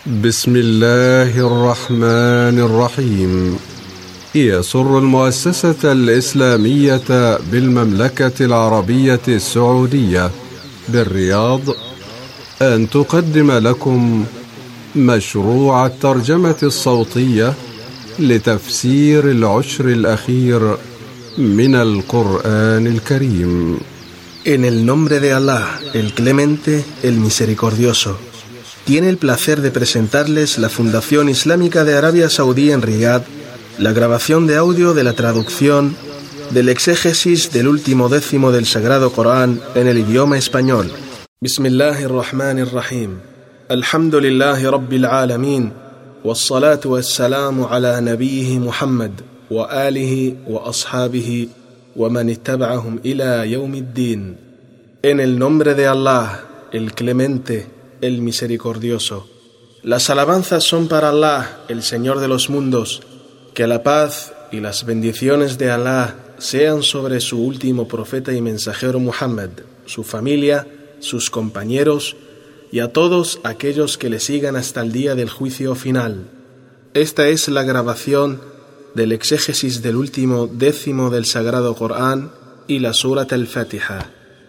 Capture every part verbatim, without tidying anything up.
بسم الله الرحمن الرحيم. يسر المؤسسة الإسلامية بالمملكة العربية السعودية بالرياض أن تقدم لكم مشروع الترجمة الصوتية لتفسير العشر الأخير من القرآن الكريم. En el nombre de Allah, el Clemente, el Misericordioso. Tiene el placer de presentarles la Fundación Islámica de Arabia Saudí en Riyadh, la grabación de audio de la traducción del exégesis del último décimo del Sagrado Corán en el idioma español. Bismillahirrahmanirrahim. Alhamdulillahi Rabbil Alamin. Wassalatu wassalamu ala nabiyhi Muhammad wa alihi wa ashabihi wa man ittaba'ahum ila yawmiddin. En el nombre de Allah, el Clemente, el Misericordioso. Las alabanzas son para Allah, el Señor de los mundos. Que la paz y las bendiciones de Allah sean sobre su último profeta y mensajero Muhammad, su familia, sus compañeros y a todos aquellos que le sigan hasta el día del juicio final. Esta es la grabación del exégesis del último décimo del Sagrado Corán y la Surat al-Fatiha.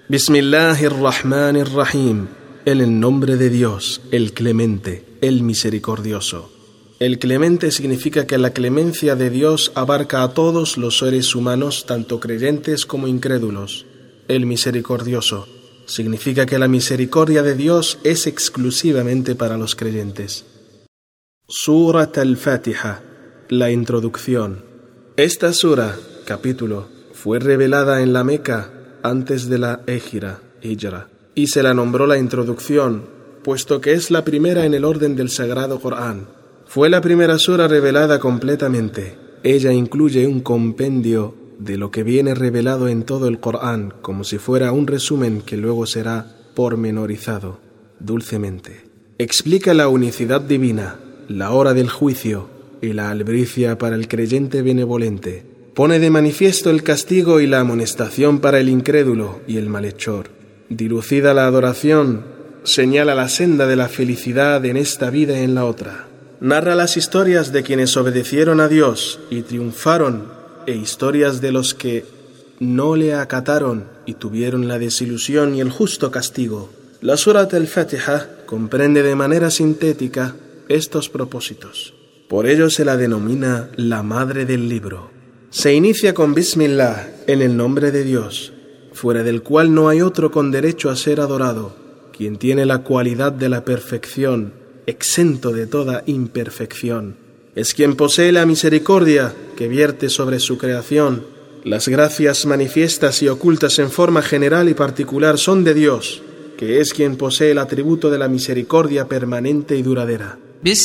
Bismillahirrahmanirrahim. En el nombre de Dios, el Clemente, el Misericordioso. El Clemente significa que la clemencia de Dios abarca a todos los seres humanos, tanto creyentes como incrédulos. El Misericordioso significa que la misericordia de Dios es exclusivamente para los creyentes. Surat al-Fatiha, la introducción. Esta sura, capítulo, fue revelada en la Meca antes de la Égira, Hijra, y se la nombró la introducción, puesto que es la primera en el orden del Sagrado Corán. Fue la primera sura revelada completamente. Ella incluye un compendio de lo que viene revelado en todo el Corán, como si fuera un resumen que luego será pormenorizado, dulcemente. Explica la unicidad divina, la hora del juicio y la albricia para el creyente benevolente. Pone de manifiesto el castigo y la amonestación para el incrédulo y el malhechor. Dilucida la adoración, señala la senda de la felicidad en esta vida y en la otra. Narra las historias de quienes obedecieron a Dios y triunfaron, e historias de los que no le acataron y tuvieron la desilusión y el justo castigo. La Surat al-Fatiha comprende de manera sintética estos propósitos. Por ello se la denomina la madre del libro. Se inicia con Bismillah, en el nombre de Dios, fuera del cual no hay otro con derecho a ser adorado, quien tiene la cualidad de la perfección, exento de toda imperfección. Es quien posee la misericordia que vierte sobre su creación. Las gracias manifiestas y ocultas en forma general y particular son de Dios, que es quien posee el atributo de la misericordia permanente y duradera.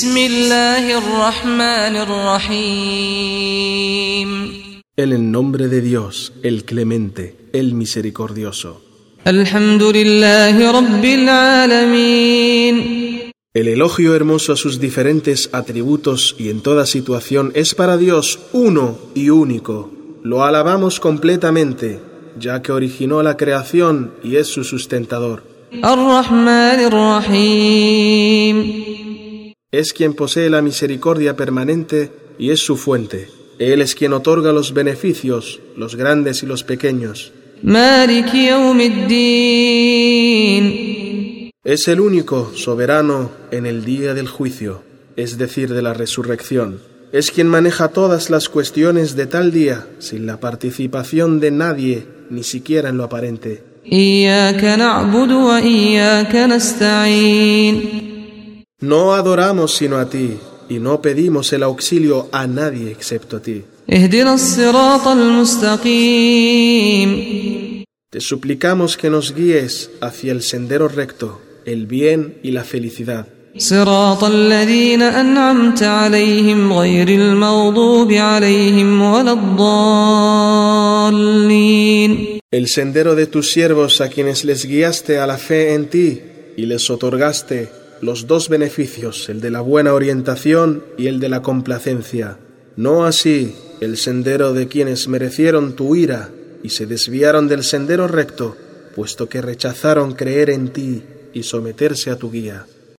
Bismillahirrahmanirrahim. En el nombre de Dios, el Clemente, el Misericordioso. Alhamdulillahi Rabbil Alamin. El elogio hermoso a sus diferentes atributos y en toda situación es para Dios uno y único. Lo alabamos completamente, ya que originó la creación y es su sustentador. Ar-Rahmanir-Rahim. Es quien posee la misericordia permanente y es su fuente. Él es quien otorga los beneficios, los grandes y los pequeños. Maliki Yawmiddin. Es el único soberano en el día del juicio, es decir, de la resurrección. Es quien maneja todas las cuestiones de tal día, sin la participación de nadie, ni siquiera en lo aparente. Iyyaka na'budu wa iyyaka nasta'in. No adoramos sino a ti, y no pedimos el auxilio a nadie excepto a ti. Ihdinas siratal mustaqim. Te suplicamos que nos guíes hacia el sendero recto, el bien y la felicidad. Siratal ladhina an'amta alayhim ghayril maghdubi alayhim waladdallin. El sendero de tus siervos a quienes les guiaste a la fe en ti y les otorgaste los dos beneficios, el de la buena orientación y el de la complacencia. No así el sendero de quienes merecieron tu ira y se desviaron del sendero recto, puesto que rechazaron creer en ti y someterse a tu guía.